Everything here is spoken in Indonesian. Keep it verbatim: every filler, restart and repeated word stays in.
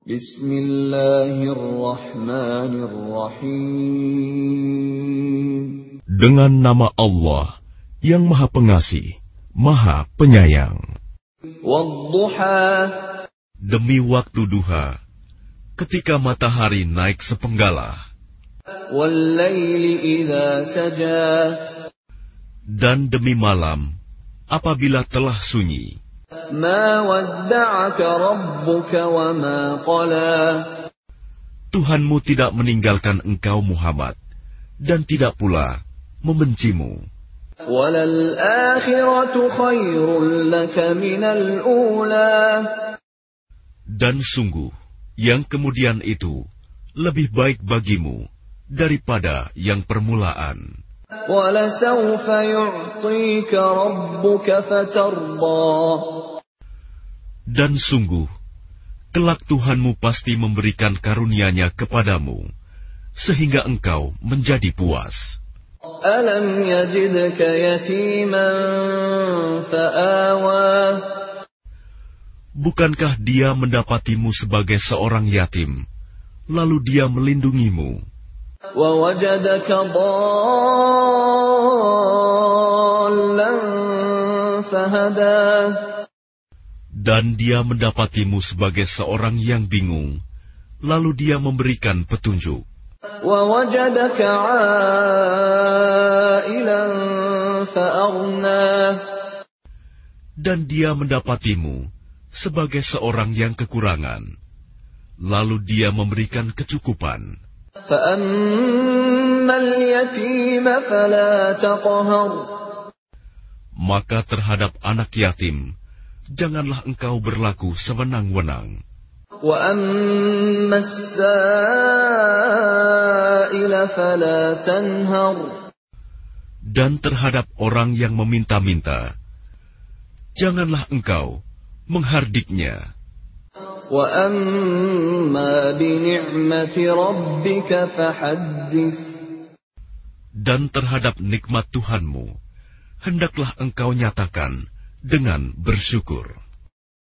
Bismillahirrahmanirrahim. Dengan nama Allah yang Maha Pengasih, Maha Penyayang. Wadduha. Demi waktu duha, ketika matahari naik sepenggalah. Wallaili idza saja. Dan demi malam, apabila telah sunyi. Ma wadda'aka rabbuka wa ma qala. Tuhanmu tidak meninggalkan engkau Muhammad, dan tidak pula membencimu. Walal akhiratu khairul laka minal ula. Dan sungguh, yang kemudian itu lebih baik bagimu daripada yang permulaan. Walasawfa yu'tika rabbuka fatarda. Dan sungguh, kelak Tuhanmu pasti memberikan karunia-Nya kepadamu, sehingga engkau menjadi puas. Alam yajidka yatiman fa'awa. Bukankah Dia mendapatimu sebagai seorang yatim, lalu Dia melindungimu? Wa wajadaka dhallan fahada. Dan Dia mendapatimu sebagai seorang yang bingung, lalu Dia memberikan petunjuk. Wa wajadaka 'ailan fa'aghna. Dan Dia mendapatimu sebagai seorang yang kekurangan, lalu Dia memberikan kecukupan. Fa'ammal yatima fala taqhar. Maka terhadap anak yatim, janganlah engkau berlaku sewenang-wenang. Wa ammas sa'ila fala tanhar. Dan terhadap orang yang meminta-minta, janganlah engkau menghardiknya. Wa amma bi ni'mati rabbika fahaddits. Dan terhadap nikmat Tuhanmu, hendaklah engkau nyatakan dengan bersyukur.